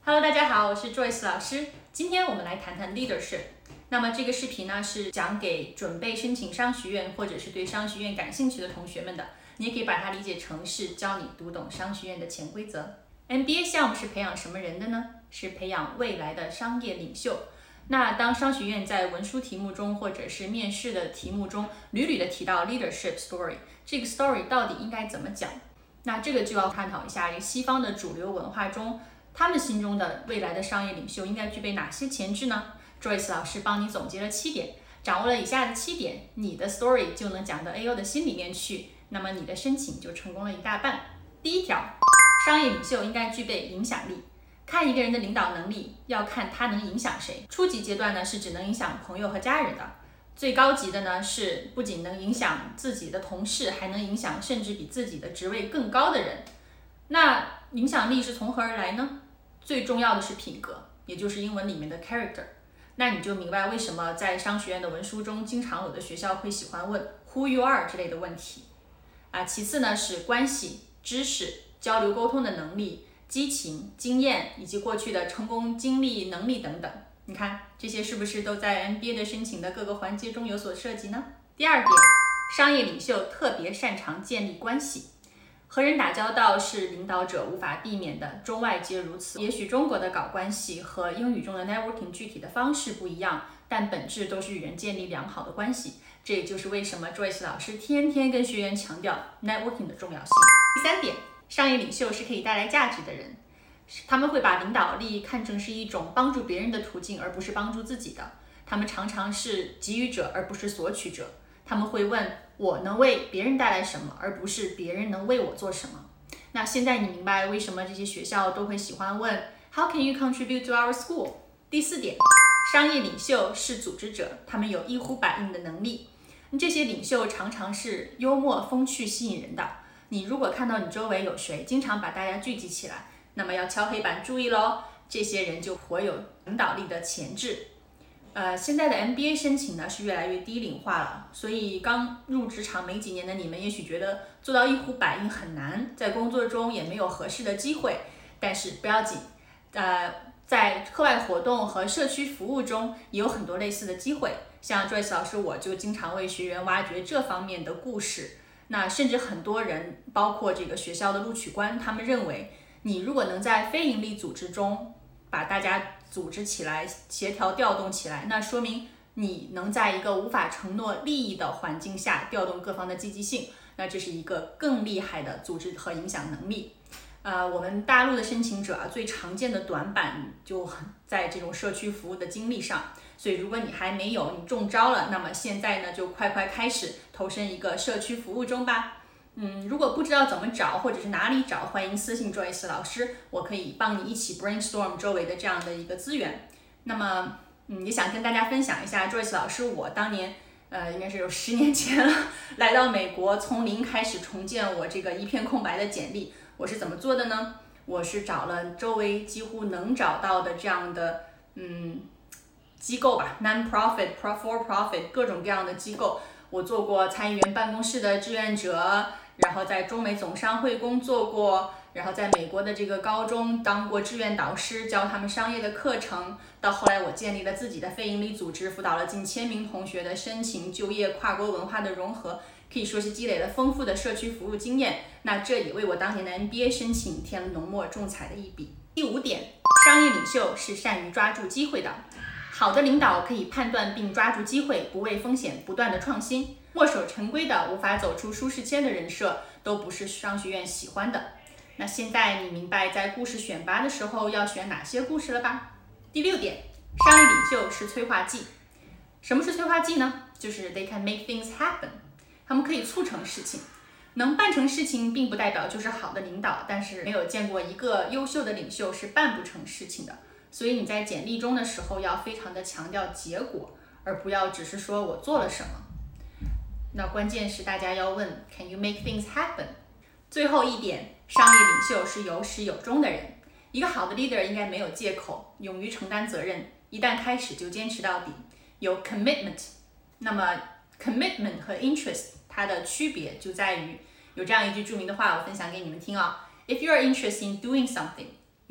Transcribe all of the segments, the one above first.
Hello， 大家好，我是 Joyce 老师。今天我们来谈谈 leadership。那么这个视频呢是讲给准备申请商学院或者是对商学院感兴趣的同学们的。你也可以把它理解成是教你读懂商学院的潜规则。MBA 项目是培养什么人的呢？是培养未来的商业领袖。那当商学院在文书题目中或者是面试的题目中屡屡的提到 leadership story， 这个 story 到底应该怎么讲？那这个就要探讨一下西方的主流文化中，他们心中的未来的商业领袖应该具备哪些潜质呢？ Joyce 老师帮你总结了7点，掌握了以下的7点，你的 story 就能讲到 AO 的心里面去，那么你的申请就成功了一大半。第一条，商业领袖应该具备影响力。看一个人的领导能力，要看他能影响谁。初级阶段呢是只能影响朋友和家人的，最高级的呢是不仅能影响自己的同事，还能影响甚至比自己的职位更高的人。那影响力是从何而来呢？最重要的是品格，也就是英文里面的 character。那你就明白为什么在商学院的文书中，经常有的学校会喜欢问 who you are 之类的问题。其次呢是关系、知识、交流沟通的能力、激情、经验以及过去的成功经历、能力等等。你看这些是不是都在 MBA 的申请的各个环节中有所涉及呢？第二点，商业领袖特别擅长建立关系。和人打交道是领导者无法避免的，中外皆如此。也许中国的搞关系和英语中的 networking 具体的方式不一样，但本质都是与人建立良好的关系。这也就是为什么 Joyce 老师天天跟学员强调 networking 的重要性。第三点，商业领袖是可以带来价值的人，他们会把领导力看成是一种帮助别人的途径，而不是帮助自己的。他们常常是给予者，而不是索取者。他们会问我能为别人带来什么，而不是别人能为我做什么。那现在你明白为什么这些学校都会喜欢问 How can you contribute to our school？ 第四点，商业领袖是组织者，他们有一呼百应的能力。这些领袖常常是幽默风趣吸引人的。你如果看到你周围有谁经常把大家聚集起来，那么要敲黑板注意咯，这些人就颇有领导力的潜质。现在的 MBA 申请呢是越来越低龄化了，所以刚入职场没几年的你们也许觉得做到一呼百应很难，在工作中也没有合适的机会，但是不要紧，在课外活动和社区服务中也有很多类似的机会，像 Joyce 老师我就经常为学员挖掘这方面的故事。那甚至很多人，包括这个学校的录取官，他们认为你如果能在非营利组织中把大家组织起来，协调调动起来，那说明你能在一个无法承诺利益的环境下调动各方的积极性，那这是一个更厉害的组织和影响能力。我们大陆的申请者最常见的短板就在这种社区服务的经历上，所以如果你还没有，你中招了，那么现在呢就快开始投身一个社区服务中吧。如果不知道怎么找或者是哪里找，欢迎私信 Joyce 老师，我可以帮你一起 brainstorm 周围的这样的一个资源。那么也想跟大家分享一下 Joyce 老师我当年应该是有10年前了，来到美国，从零开始重建我这个一片空白的简历。我是怎么做的呢？我是找了周围几乎能找到的这样的机构吧， non-profit for profit 各种各样的机构。我做过参议员办公室的志愿者，然后在中美总商会工作过，然后在美国的这个高中当过志愿导师，教他们商业的课程。到后来我建立了自己的非营利组织，辅导了近1000名同学的申请、就业、跨国文化的融合，可以说是积累了丰富的社区服务经验。那这也为我当年的 MBA 申请添了浓墨重彩的一笔。第5点，商业领袖是善于抓住机会的。好的领导可以判断并抓住机会，不畏风险，不断的创新。墨守成规的、无法走出舒适圈的人设，都不是商学院喜欢的。那现在你明白在故事选拔的时候要选哪些故事了吧？第6点，商业领袖是催化剂。什么是催化剂呢？就是 they can make things happen， 他们可以促成事情。能办成事情并不代表就是好的领导，但是没有见过一个优秀的领袖是办不成事情的。所以你在简历中的时候要非常的强调结果，而不要只是说我做了什么。那关键是大家要问 Can you make things happen？ 最后一点，商业领袖是有始有终的人。一个好的 leader 应该没有借口，勇于承担责任，一旦开始就坚持到底，有 commitment。 那么 commitment 和 interest 它的区别就在于有这样一句著名的话，我分享给你们听啊。If you are interested in doing something,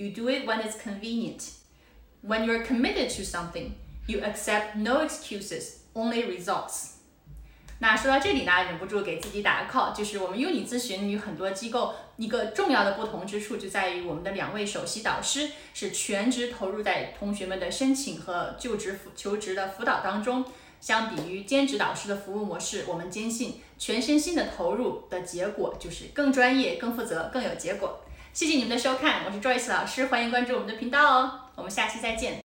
You do it when it's convenient. When you're committed to something, you accept no excuses, only results. 那说到这里呢，忍不住给自己打个 call， 就是我们优你咨询与很多机构一个重要的不同之处，就在于我们的2位首席导师是全职投入在同学们的申请和求职的辅导当中。相比于兼职导师的服务模式，我们坚信全身心的投入的结果就是更专业、更负责、更有结果。谢谢你们的收看，我是 Joyce 老师，欢迎关注我们的频道哦，我们下期再见。